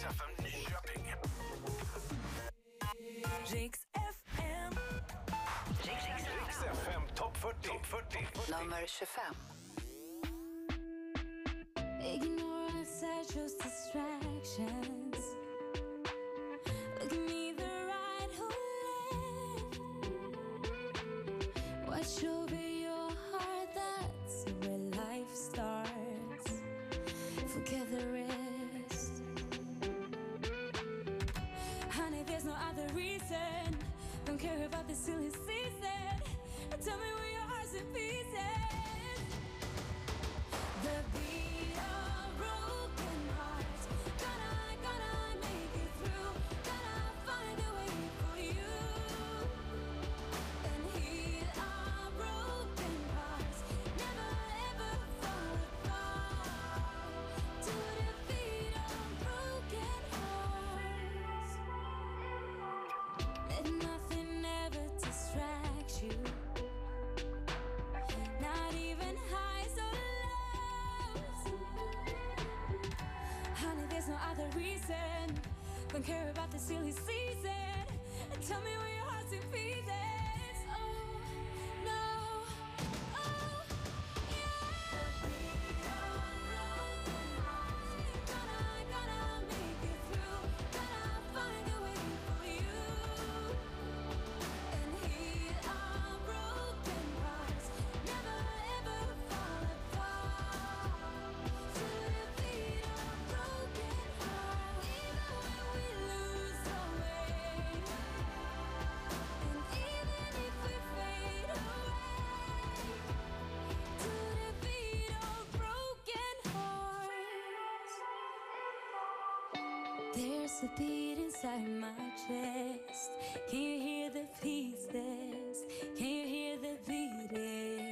Riks FM Nyköping. Riks FM. Riks FM Top 40. Nummer 25. Ignore us, I chose distractions. Look at me, the right who left. Watch over your heart, that's where life starts. Forget the rest. Honey, there's no other reason. Don't care about the silly season. Tell me where your heart's in pieces. The beat of broken hearts. Gonna make it through. Gonna find a way for you. And heal our broken hearts. Never ever fall apart. To the beat of broken hearts. Let nothing ever distract you. Not even highs or lows. Honey, there's no other reason. Don't care about the silly season. Tell me where your heart's in pieces. Oh, no. Oh, yeah. Gonna make it through. Gonna find a way for you. And heal our broken hearts. Never ever fall apart. To the beat of broken hearts. Even when we lose our way. And even if we fade away. To the beat of broken hearts. There's a beat inside my chest. Can you hear the pieces? Can you hear the beating?